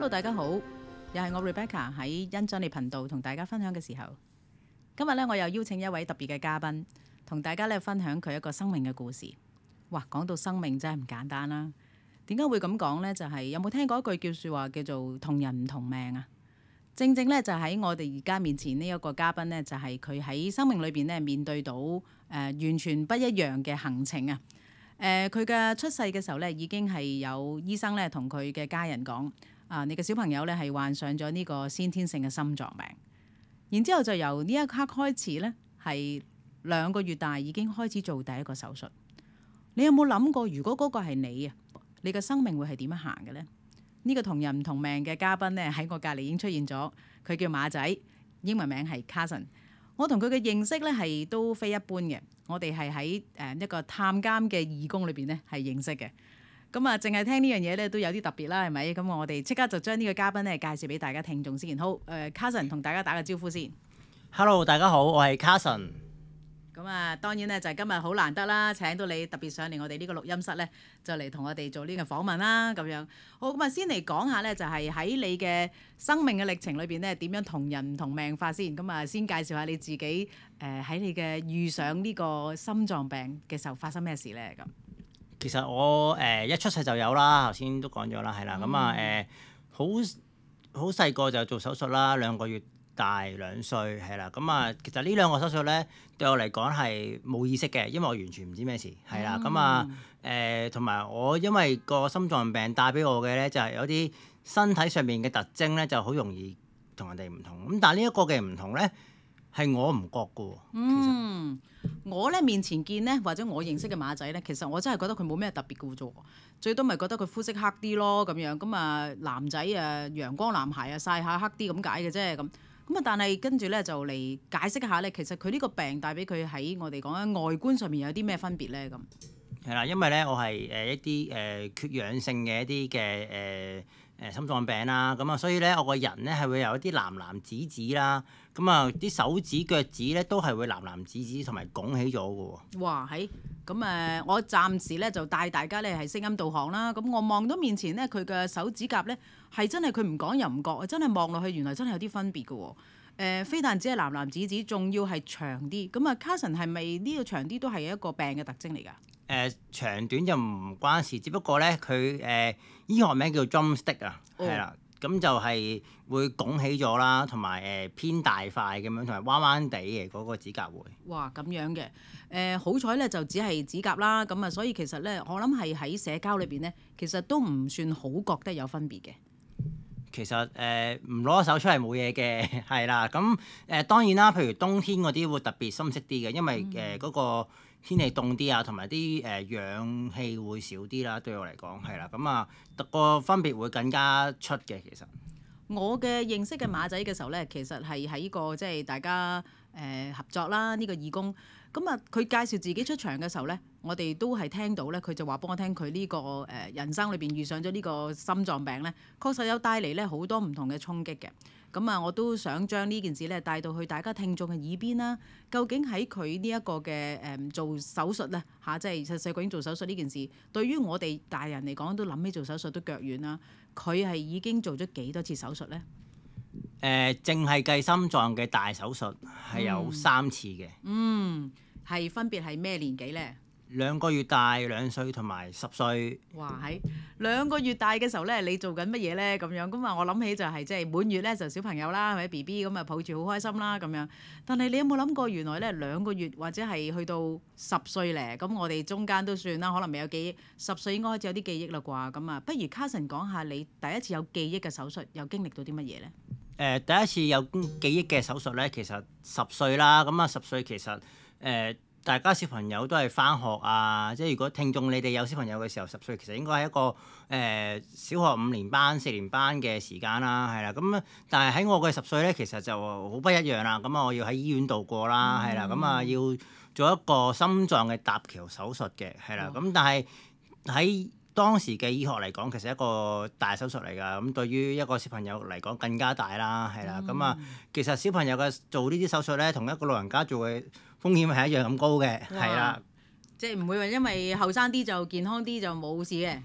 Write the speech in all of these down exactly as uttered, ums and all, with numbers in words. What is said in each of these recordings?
Hello， 大家好，又係我 Rebecca 喺欣賞你頻道同大家分享嘅時候，今日咧我又邀請一位特別嘅嘉賓，同大家咧分享佢一個生命嘅故事。哇，講到生命真係唔簡單啦。點解會咁講呢？就係、是、有冇聽過一句叫説話叫做同人唔同命啊？正正咧就喺我哋而家面前呢一個嘉賓呢，就係佢喺生命裏邊咧面對到誒、呃、完全不一樣嘅行程啊！誒佢嘅出世嘅時候咧，已經係有醫生咧同佢嘅家人講啊，你嘅小朋友咧係患上咗呢個先天性嘅心臟病。然之後就由呢一刻開始咧，係兩個月大已經開始做第一個手術。你有冇諗過，如果嗰個係你啊，你嘅生命會係點樣行嘅呢？呢、這個同人唔同命嘅嘉賓咧喺我隔離已經出現咗，佢叫馬仔，英文名係 Carson。我同佢嘅認識咧係都非一般嘅，我哋係喺誒一個探監嘅義工裏邊咧係認識嘅。咁啊，淨係聽呢樣嘢咧都有啲特別啦，係咪？咁我哋即刻就將呢個嘉賓咧介紹俾大家聽眾先。好，誒、呃、Carson 同大家打個招呼先。 Hello， 大家好，我係 Carson。 咁啊，當然咧就係今日好難得啦，請到你特別上嚟我哋呢個錄音室咧，就嚟同我哋做呢個訪問啦，咁樣。好，咁啊，先嚟講下咧，就係喺你嘅生命嘅歷程裏邊咧，點樣同人唔同命法先。咁啊，先介紹下你自己誒喺、呃、你嘅遇上呢個心臟病嘅時候發生咩事咧？咁其實我誒、呃、一出世就有啦，頭先都講咗啦，係啦，咁啊誒好好細個就做手術啦，兩個月大兩歲係啦，咁啊其實呢兩個手術咧對我嚟講係冇意識嘅，因為我完全唔知咩事係啦，咁、嗯、啊誒同埋我因為個心臟病帶俾我嘅咧就係、是、有啲身體上面嘅特徵咧就好容易同人哋唔同，咁但係呢一個嘅唔同咧係我唔覺嘅喎。 嗯，我咧面前見咧或者我認識嘅馬仔咧，其實我真係覺得佢冇咩特別嘅啫，最多咪覺得佢膚色黑啲咯咁樣，咁啊男仔啊陽光男孩啊曬下黑啲咁解嘅啫咁。咁啊，但係跟住咧就嚟解釋一下咧，其實佢呢個病帶俾佢喺我哋講緊外觀上面有啲咩分別咧咁。 係啦，因為咧我係誒一啲誒、呃、缺氧性嘅一啲嘅誒誒心臟病啦，咁啊所以咧我個人咧係會有一啲藍藍紫紫啦，咁啊啲手指腳趾咧都係會藍藍紫紫同埋拱起咗嘅喎。 哇，係咁誒，我暫時咧就帶大家咧係聲音導航啦。咁我望到面前咧佢嘅手指甲咧係真係佢唔講又唔覺，真係望落去原來真係有啲分別嘅喎。誒，非但只係藍藍紫紫，仲要係長啲。咁啊，Carson 係咪呢個長啲都係一個病嘅特徵嚟㗎？ 誒、呃、長短就唔關事，只不過咧佢誒醫學名叫 drumstick 啊，係啦、oh.，咁就係會拱起咗啦，同埋誒偏大塊咁樣，同埋彎彎地嘅嗰個指甲會。 哇，咁樣嘅誒、呃，好彩咧就只係指甲啦，咁啊，所以其實咧我諗係喺社交裏邊咧，其實都唔算好覺得有分別嘅。 其實誒唔攞手出嚟冇嘢嘅，係啦，咁誒、呃、當然啦，譬如冬天嗰啲會特別深色啲嘅，因為誒嗰、呃嗰個天氣凍啲啊，同埋啲誒氧氣會少啲啦，對我嚟講係啦，咁啊個分別會更加出嘅其實。 我嘅認識嘅馬仔嘅時候咧，其實係喺個即係大家誒、呃、合作啦，呢、這個義工咁啊，佢介紹自己出場嘅時候咧，我哋都係聽到咧，佢就話幫我聽佢呢、這個誒、呃、人生裏邊遇上咗呢個心臟病咧，確實有帶嚟咧好多唔同嘅衝擊嘅。咁啊，我都想將呢件事咧帶到去大家聽眾嘅耳邊啦。究竟喺佢呢一個嘅誒、嗯、做手術咧嚇，即係細細個已經做手術呢件事，對於我哋大人嚟講都諗起做手術都腳軟啦。佢係已經做咗幾多次手術咧？ 誒，淨係計心臟嘅大手術係有三次嘅。 嗯，係、嗯、分別係咩年紀咧？ 兩個月大、兩歲同埋十歲。 哇！喺兩個月大嘅時候咧，你做緊乜嘢咧？咁樣咁啊，我諗起就係即係滿月咧就小朋友啦，或者 B B 咁啊抱住好開心啦咁樣。但係你有冇諗過原來咧兩個月或者係去到十歲咧？咁我哋中間都算啦，可能未有記憶。十歲應該開始有啲記憶啦啩？咁啊，不如 Carson 講下你第一次有記憶嘅手術，又經歷到啲乜嘢咧？ 誒、呃，第一次有記憶嘅手術咧，其實十歲啦。咁啊，十歲其實誒。呃大家小朋友都係返學啊，即係如果聽眾你哋有小朋友嘅時候，十歲其實應該係一個誒、呃、小學五年班、四年班嘅時間啦，係啦。咁但係喺我嘅十歲咧，其實就好不一樣啦。咁啊，我要喺醫院度過啦，係啦。咁啊，要做一個心臟嘅搭橋手術嘅，係啦。咁但係喺當時嘅醫學嚟講，其實一個大手術嚟㗎。咁對於一個小朋友嚟講更加大啦，係啦。咁啊、嗯，其實小朋友嘅做呢啲手術咧，同一個老人家做嘅風險係一樣咁高嘅，係啦。 即係唔會話因為後生啲就健康啲就冇事嘅。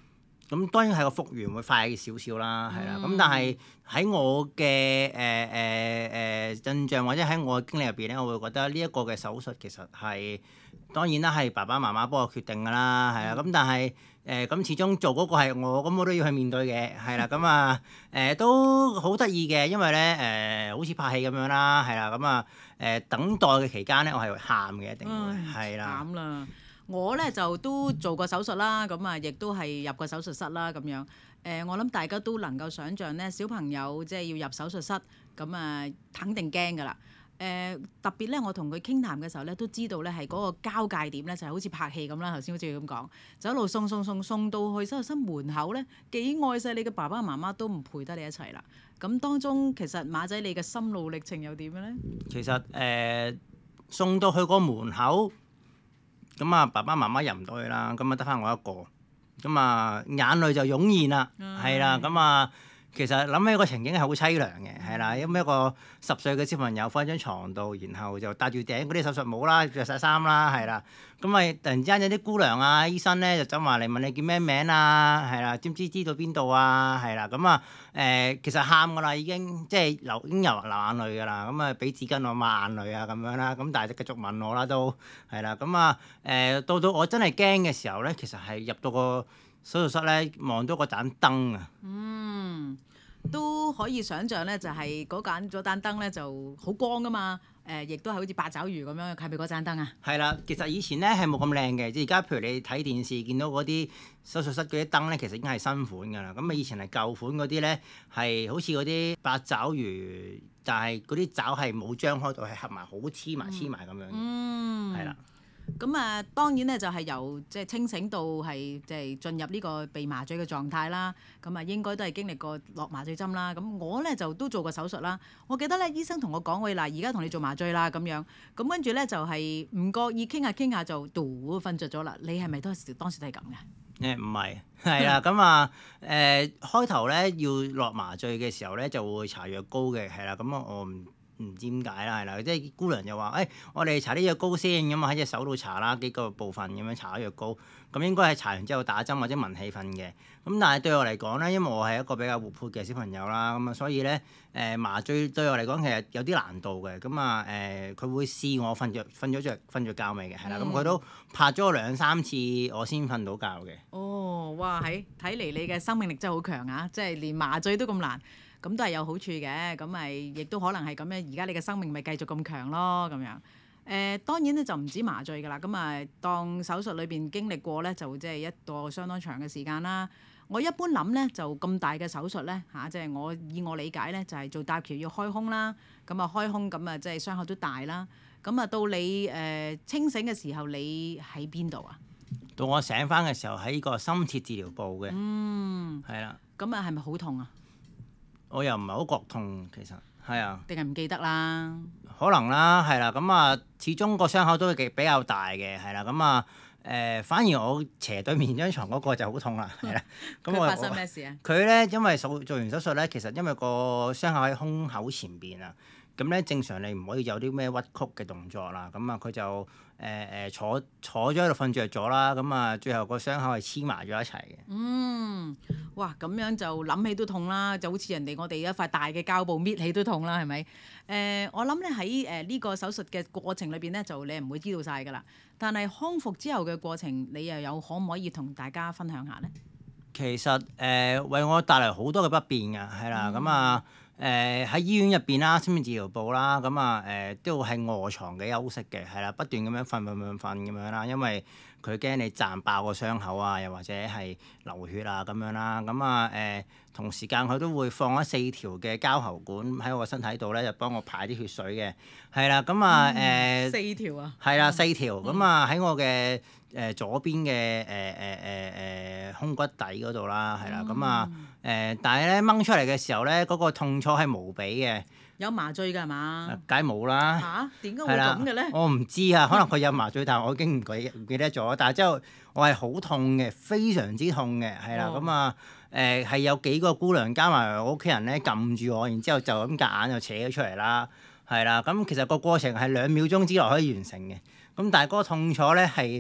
咁當然係個復原會快少少啦，係啦。咁、 嗯但係喺我嘅誒誒誒印象或者喺我嘅經歷入邊咧，我會覺得呢一個嘅手術其實係當然啦，係爸爸媽媽幫我決定㗎啦，係啊。咁、但係誒咁始終做嗰個係我，咁我都要去面對嘅，係啦。咁啊誒都好得意嘅，因為咧誒、好似拍戲咁樣啦，係啦。咁啊誒等待嘅期間咧，我係會喊嘅，一定會唉係啦。 慘啦！我咧就都做過手術啦，咁啊亦都係入過手術室啦咁樣。誒、我諗大家都能夠想像咧，小朋友即係要入手術室，咁啊肯定驚㗎啦。誒、特別咧，我同佢傾談嘅時候咧，都知道咧係嗰個交界點咧，就係、好似拍戲咁啦。頭先好似佢咁講，就一路送送送送到去手術室門口咧，幾愛錫你嘅爸爸媽媽都唔陪得你一齊啦。咁當中其實馬仔你嘅心路歷程又點樣咧？ 其實誒、呃送到去個門口，咁啊爸爸媽媽入唔到去啦，咁啊得翻我一個，咁啊眼淚就湧現啦，係啦，咁啊其實諗起個情景係好凄涼嘅，係啦，因為一個十歲嘅小朋友瞓喺張床度，然後就戴住頂嗰啲手術帽啦，着晒衫啦，係啦，咁咪突然之間有啲姑娘啊、醫生咧就走埋嚟問你叫咩名啊，係啦，知唔知知道邊度啊，係啦，咁啊誒其實喊㗎啦已經，即係流已經流流眼淚㗎啦，咁啊俾紙巾我抹眼淚啊咁樣啦，咁但係就繼續問我啦都係啦，咁啊誒到到我真係驚嘅時候咧，其實係入到個手術室咧，望到個盞燈啊。 嗯，都可以想像咧，就係嗰盞嗰盞燈咧就好光噶嘛。誒、亦都係好似八爪魚咁樣，係咪嗰盞燈啊？ 係啦，其實以前咧係冇咁靚嘅，即係而家譬如你睇電視見到嗰啲手術室嗰啲燈咧，其實已經係新款㗎啦。咁啊以前係舊款嗰啲咧，係好似嗰啲八爪魚，但係嗰啲爪係冇張開到，係合埋好黐埋黐埋咁樣嘅， 嗯， 係啦。 咁啊，當然咧就係由即係清醒到係即係進入呢個被麻醉嘅狀態啦。咁啊，應該都係經歷過落麻醉針啦。咁我咧就都做過手術啦。我記得咧，醫生同我講：喂，嗱，而家同你做麻醉啦咁樣。咁跟住咧就係唔覺意傾下傾下就嘟瞓着咗啦。你係咪當時當時都係咁嘅？ 誒唔係，係啦，咁啊誒開頭咧要落麻醉嘅時候咧就會搽藥膏嘅，係啦，咁啊我唔唔知點解啦，係啦，即係姑娘就話：誒、哎，我哋搽啲藥膏先，咁啊喺隻手度搽啦，幾個部分咁樣搽咗藥膏，咁應該係搽完之後打針或者聞氣瞓嘅。咁但係對我嚟講咧，因為我係一個比較活潑嘅小朋友啦，咁啊所以咧誒、呃、麻醉對我嚟講其實有啲難度嘅。咁啊誒佢會試我瞓着瞓咗着瞓着覺未嘅，係啦，咁佢、 嗯都拍咗我兩三次，我先瞓到覺嘅。 哦，哇！喺睇嚟你嘅生命力真係好強啊！即係連麻醉都咁難，咁都係有好處嘅。咁咪亦都可能係咁樣，而家你嘅生命咪繼續咁強咯，咁樣。誒、當然咧就唔止麻醉㗎啦。咁啊，當手術裏邊經歷過咧，就即係一個相當長嘅時間啦。我一般諗咧，就咁大嘅手術咧嚇，即係我以我理解咧，就係做搭橋要開胸啦。咁啊開胸咁啊，即係傷口都大啦。咁啊到你誒、清醒嘅時候，你喺邊度啊？ 到我醒翻嘅時候喺個深切治療部嘅， 嗯， 係啦、 咁啊係咪好痛啊？ 我又唔係好覺痛，其實係啊， 定係唔記得啦？ 可能啦，係啦，咁啊，始終個傷口都幾比較大嘅，係啦，咁啊誒，反而我斜對面張床嗰個就好痛啦，係啦，咁我佢發生咩事啊？ 佢咧因為手做完手術咧，其實因為個傷口喺胸口前邊啊，咁咧正常你唔可以有啲咩屈曲嘅動作啦，咁啊佢就誒誒、呃、坐坐咗喺度瞓着咗啦，咁啊最後個傷口係黐埋咗一齊嘅。 嗯，哇，咁樣就諗起都痛啦，就好似人哋我哋一塊大嘅膠布搣起都痛啦，係咪？誒、我諗咧喺誒呢個手術嘅過程裏邊咧，就你唔會知道晒㗎啦。但係康復之後嘅過程，你又有可唔可以同大家分享下咧？ 其實誒、呃、為我帶嚟好多嘅不便㗎，係啦，咁啊誒喺醫院入邊啦，深切治療部啦，咁啊誒都係臥床嘅休息嘅，係啦，不斷咁樣瞓瞓瞓瞓咁樣啦，因為佢驚你賺爆個傷口啊，又或者係流血啊咁樣啦，咁啊誒同時間佢都會放咗四條嘅膠喉管喺我個身體度咧，就幫我排啲血水嘅，係啦，咁啊誒四條啊？ 係啦，四條咁啊喺我嘅誒、呃、左邊嘅誒誒誒誒胸骨底嗰度啦，係啦，咁啊誒，但係咧掹出嚟嘅時候咧，嗰、個痛楚係無比嘅， 有麻醉㗎係嘛？ 梗係冇啦。 嚇？點解會係啦咁嘅咧？ 我唔知啊，可能佢有麻醉，但係我已經唔記唔記得咗。但係之後我係好痛嘅，非常之痛嘅，係啦， 哦咁啊誒係有幾個姑娘加埋我屋企人咧撳住我，然之後就咁夾硬就扯咗出嚟啦，係啦。咁其實個過程係兩秒鐘之內可以完成嘅，咁但係嗰個痛楚咧係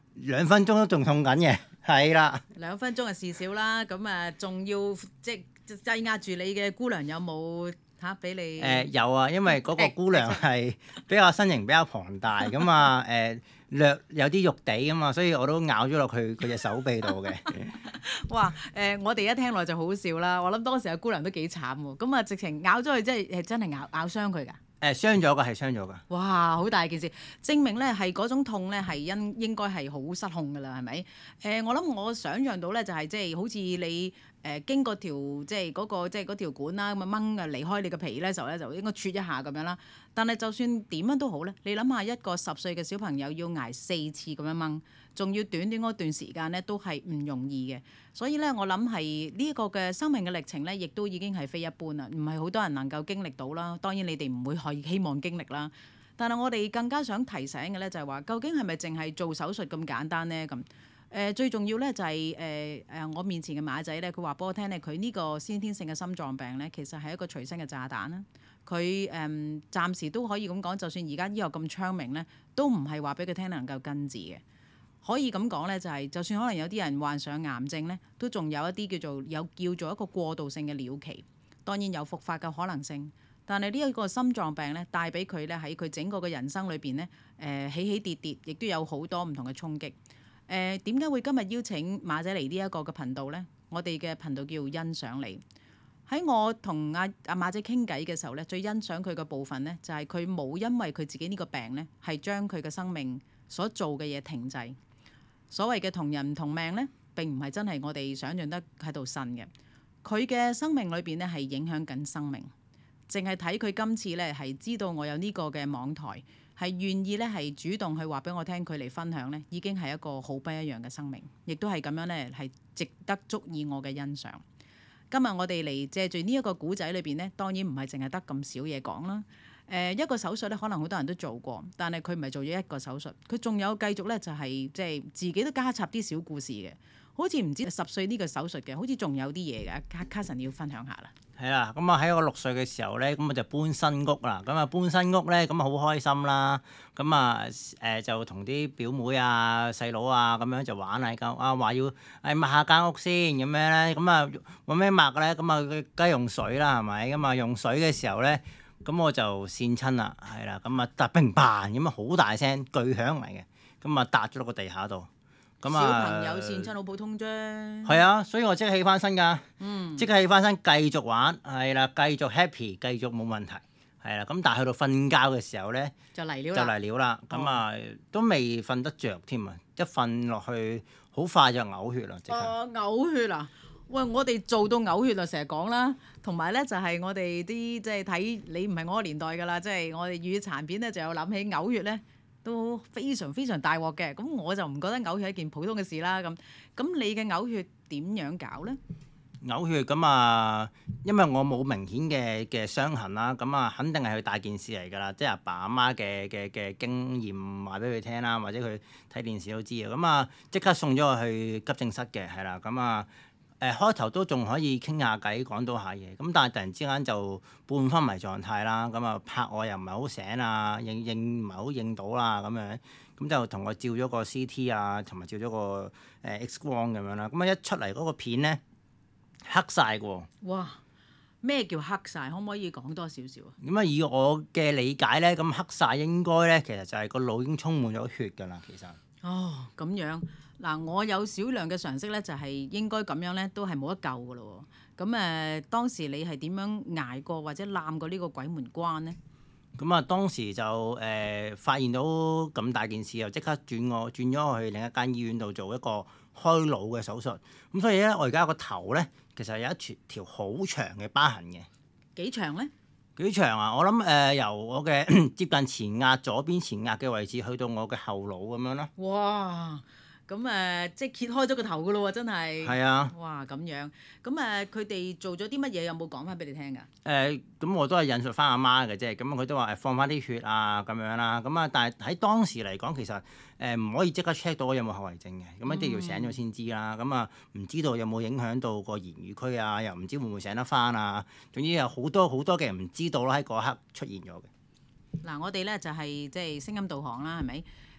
兩分鐘都仲痛緊嘅，係啦。 兩分鐘係事少啦，咁啊仲要即係擠壓住你嘅姑娘有冇嚇俾你？ 誒、呃、有啊，因為嗰個姑娘係比較身形比較龐大咁啊，誒略有啲肉地咁嘛，所以我都咬咗落去佢隻手臂度嘅。 哇！誒、呃，我哋一聽落就好笑啦。我諗當時阿姑娘都幾慘喎。咁啊，直情咬咗佢，即係誒真係咬咬傷佢㗎。 誒傷咗㗎，係傷咗㗎。 哇！好大件事，證明咧係嗰種痛咧係因應該係好失控㗎啦，係咪？誒、呃，我諗我想像到咧就係即係好似你誒、呃、經過條即係嗰個即係嗰條管啦，咁啊掹啊離開你個皮咧時候咧就應該啜一下咁樣啦。但係就算點樣都好咧，你諗下一個十歲嘅小朋友要捱四次咁樣掹，仲要短短嗰段時間咧都係唔容易嘅。所以咧我諗係呢一個嘅生命嘅歷程咧，亦都已經係非一般啦，唔係好多人能夠經歷到啦。當然你哋唔會可以希望經歷啦，但係我哋更加想提醒嘅咧就係話，究竟係咪淨係做手術咁簡單咧？咁誒、呃、最重要咧就係誒誒我面前嘅馬仔咧，佢話俾我聽咧，佢呢個先天性嘅心臟病咧，其實係一個隨身嘅炸彈啦。佢誒、嗯、暫時都可以咁講，就算而家醫學咁昌明咧，都唔係話俾佢聽能夠根治嘅。可以咁講咧，就係、是、就算可能有啲人患上癌症咧，都仲有一啲叫做有叫做一個過渡性嘅療期，當然有復發嘅可能性。但係呢一個心臟病咧，帶俾佢咧喺佢整個嘅人生裏邊咧，誒、呃、起起跌跌，亦都有好多唔同嘅衝擊。誒點解會今日邀請馬仔嚟呢一個嘅頻道咧？我哋嘅頻道叫欣賞你。喺我同阿阿馬仔傾偈嘅時候咧，最欣賞佢嘅部分咧，就係佢冇因為佢自己呢個病咧，係將佢嘅生命所做嘅嘢停滯。所謂嘅同人唔同命咧，並唔係真係我哋想象得喺度呻嘅。佢嘅生命裏邊咧係影響緊生命，淨係睇佢今次咧係知道我有呢個嘅網台，係願意咧係主動去話俾我聽佢嚟分享咧，已經係一個好不一樣嘅生命，亦都係咁樣咧係值得足以我嘅欣賞。今日我哋嚟借住呢一個古仔裏邊咧，當然唔係淨係得咁少嘢講啦。誒、呃、一個手術咧，可能好多人都做過，但係佢唔係做咗一個手術，佢仲有繼續咧就係即係自己都加插啲小故事嘅，好似唔知十歲呢個手術嘅，好似仲有啲嘢嘅。卡卡神要分享下啦。 係啦，咁啊喺我六歲嘅時候咧，咁我就搬新屋啦。咁啊搬新屋咧，咁啊好開心啦。咁啊誒就同啲表妹啊、細佬啊咁樣就玩下間啊，話要誒抹下間屋先咁樣咧。咁啊揾咩抹咧？咁啊梗係用水啦，係咪？咁啊用水嘅時候咧。咁我就跣親啦，係啦，咁啊，突砰砰咁啊，好大聲，巨響嚟嘅，咁啊，笪咗落個地下度。咁啊， 小朋友跣親好普通啫。 係啊，所以我即刻起翻身㗎， 嗯， 即刻起翻身繼續玩，係啦，繼續 happy，繼續冇問題，係啦。咁但係去到瞓覺嘅時候咧， 就嚟了就嚟了啦。咁啊，都未瞓得着添啊，一瞓落去好快就嘔血啦，即刻。 哦，嘔血啊！喂，我哋做到嘔血啊，成日講啦，同埋咧就係我哋啲即係睇你唔係我個年代㗎啦，即係我哋粵語殘片咧就有諗起嘔血咧都非常非常大鑊嘅，咁我就唔覺得嘔血係一件普通嘅事啦。咁咁你嘅嘔血點樣搞咧？ 嘔血咁啊，因為我冇明顯嘅嘅傷痕啦，咁啊肯定係佢大件事嚟㗎啦，即係阿爸阿媽嘅嘅嘅經驗話俾佢聽啦，或者佢睇電視都知啊，咁啊即刻送咗我去急症室嘅，係啦，咁啊。誒開頭都仲可以傾下偈，講到下嘢，咁但係突然之間就半昏迷狀態啦，咁啊拍我又唔係好醒啊，認認唔係好認到啦咁樣，咁就同我照咗個 C T 啊，同埋照咗個誒 X 光咁樣啦，咁啊一出嚟嗰個片咧黑晒嘅喎。 哇！咩叫黑晒？可唔可以講多少少啊？ 咁啊以我嘅理解咧，咁黑晒應該咧其實就係個腦已經充滿咗血㗎啦，其實。 哦，咁樣嗱，我有少量嘅常識咧，就係應該咁樣咧，都係冇得救噶咯喎。咁誒、呃，當時你係點樣捱過或者攬過呢個鬼門關咧？ 咁啊，當時就誒、呃、發現到咁大件事，又即刻轉我轉咗我去另一間醫院度做一個開腦嘅手術。咁所以咧，我而家個頭咧，其實有一條條好長嘅疤痕嘅。 幾長咧？ 幾長啊？我諗誒、呃、由我嘅接近前額左邊前額嘅位置去到我嘅後腦咁樣啦。 哇！咁誒、呃，即係揭開咗個頭噶咯喎，真係。 係啊。 哇！咁樣，咁誒，佢哋做咗啲乜嘢？有冇講翻俾你聽㗎？ 誒、呃，咁我都係引述翻阿媽嘅啫。咁佢都話誒放翻啲血啊咁樣啦。咁啊，但係喺當時嚟講，其實誒唔、呃、可以即刻 check 到我有冇後遺症嘅。咁一定要醒咗先知啦。咁啊、嗯，唔知道有冇影響到個言語區啊？又唔知會唔會醒得翻啊？總之有好多好多嘅唔知道啦，喺嗰刻出現咗嘅。 嗱，我哋咧就係即係聲音導航啦，係咪？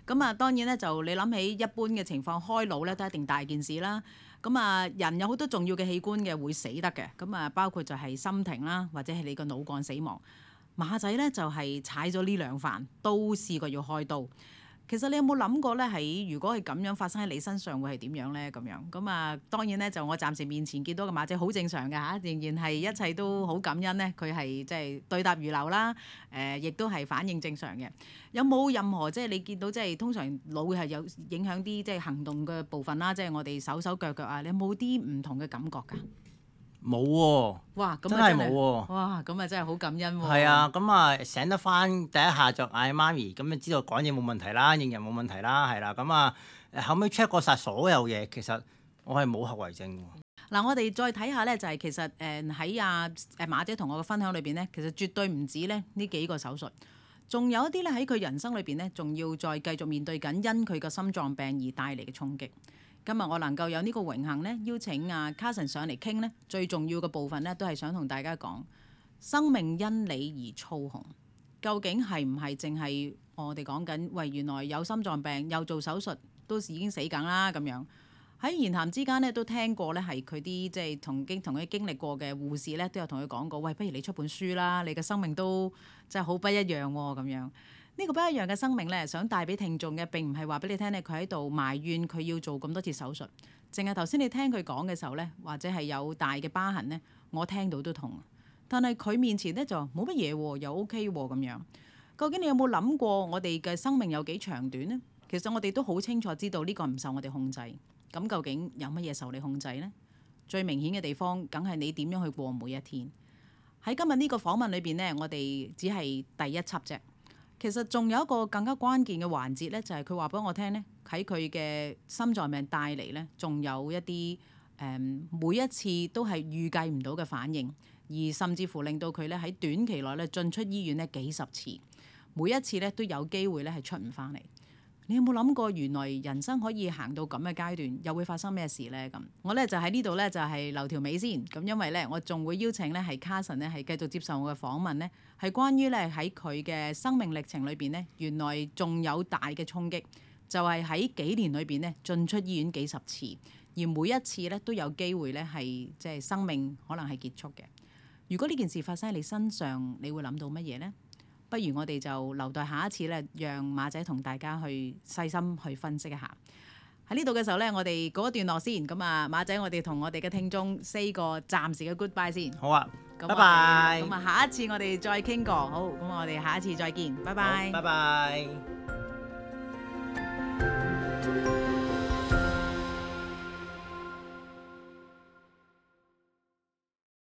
咁啊，當然咧就你諗起一般嘅情況，開腦咧都一定大件事啦。咁啊，人有好多重要嘅器官嘅會死得嘅，咁啊包括就係心停啦，或者係你個腦幹死亡。馬仔咧就係踩咗呢兩飯，都試過要開刀。其實你有冇諗過咧？喺如果係咁樣發生喺你身上，會係點樣咧？咁樣咁啊，當然咧就我暫時面前見到嘅馬仔好正常嘅嚇，仍然係一切都好感恩咧。佢係即係對答如流啦，誒、呃，亦都係反應正常嘅。有冇任何即係你見到即係通常腦係有影響啲即係行動嘅部分啦？即係我哋手手腳腳啊，你有冇啲唔同嘅感覺㗎？ 冇喎， 哇！咁真啊係冇喎。 哇！咁啊真係好感恩喎。 係啊，咁啊醒得翻第一下就嗌媽咪，咁就知道講嘢冇問題啦，應人冇問題啦，係啦，咁啊誒後尾 check 過晒所有嘢，其實我係冇後遺症喎。 嗱，我哋再睇下咧，就係其實誒喺阿誒馬姐同我嘅分享裏邊咧，其實絕對唔止咧呢幾個手術，仲有一啲咧喺佢人生裏邊咧，仲要再繼續面對緊因佢個心臟病而帶嚟嘅衝擊。今日我能夠有呢個榮幸咧，邀請阿 Carson 上嚟傾咧，最重要嘅部分咧，都係想同大家講生命因你而操控，究竟係唔係淨係我哋講緊？喂，原來有心臟病又做手術，都已經死梗啦咁樣。喺言談之間咧，都聽過咧，係佢啲即係同經同佢經歷過嘅護士咧，都有同佢講過，喂，不如你出本書啦，你嘅生命都真係好不一樣喎、哦、咁樣。呢個不一樣嘅生命咧，想帶俾聽眾嘅並唔係話俾你聽咧，佢喺度埋怨佢要做咁多次手術，淨係頭先你聽佢講嘅時候咧，或者係有大嘅疤痕咧，我聽到都痛。但係佢面前咧就冇乜嘢喎，又 OK 喎咁樣。究竟你有冇諗過我哋嘅生命有幾長短呢？其實我哋都好清楚知道呢個唔受我哋控制。咁究竟有乜嘢受你控制呢？最明顯嘅地方，梗係你點樣去過每一天。喺今日呢個訪問裏邊呢，我哋只係第一輯啫。其實仲有一個更加關鍵嘅環節咧，就係佢話俾我聽咧，喺佢嘅心臟病帶嚟咧，仲有一啲誒、嗯、每一次都係預計唔到嘅反應，而甚至乎令到佢咧喺短期內咧進出醫院咧幾十次，每一次咧都有機會咧係出唔翻嚟。你有冇諗過原來人生可以行到咁嘅階段，又會發生咩事咧？咁我咧就喺呢度咧就係留條尾先。咁因為咧我仲會邀請咧係 Carson 咧係繼續接受我嘅訪問咧，係關於咧喺佢嘅生命歷程裏邊咧，原來仲有大嘅衝擊，就係喺幾年裏邊咧進出醫院幾十次，而每一次咧都有機會咧係即係生命可能係結束嘅。如果呢件事發生喺你身上，你會諗到乜嘢咧？不如我哋就留待下一次咧，讓馬仔同大家去細心去分析一下。喺呢度嘅時候咧，我哋告一段落先。咁啊，馬仔，我哋同我哋嘅聽眾 say 個暫時嘅 goodbye 先。 好啊， 咁拜拜。 咁啊，下一次我哋再傾過。好，咁我哋下一次再見。拜拜。 拜拜。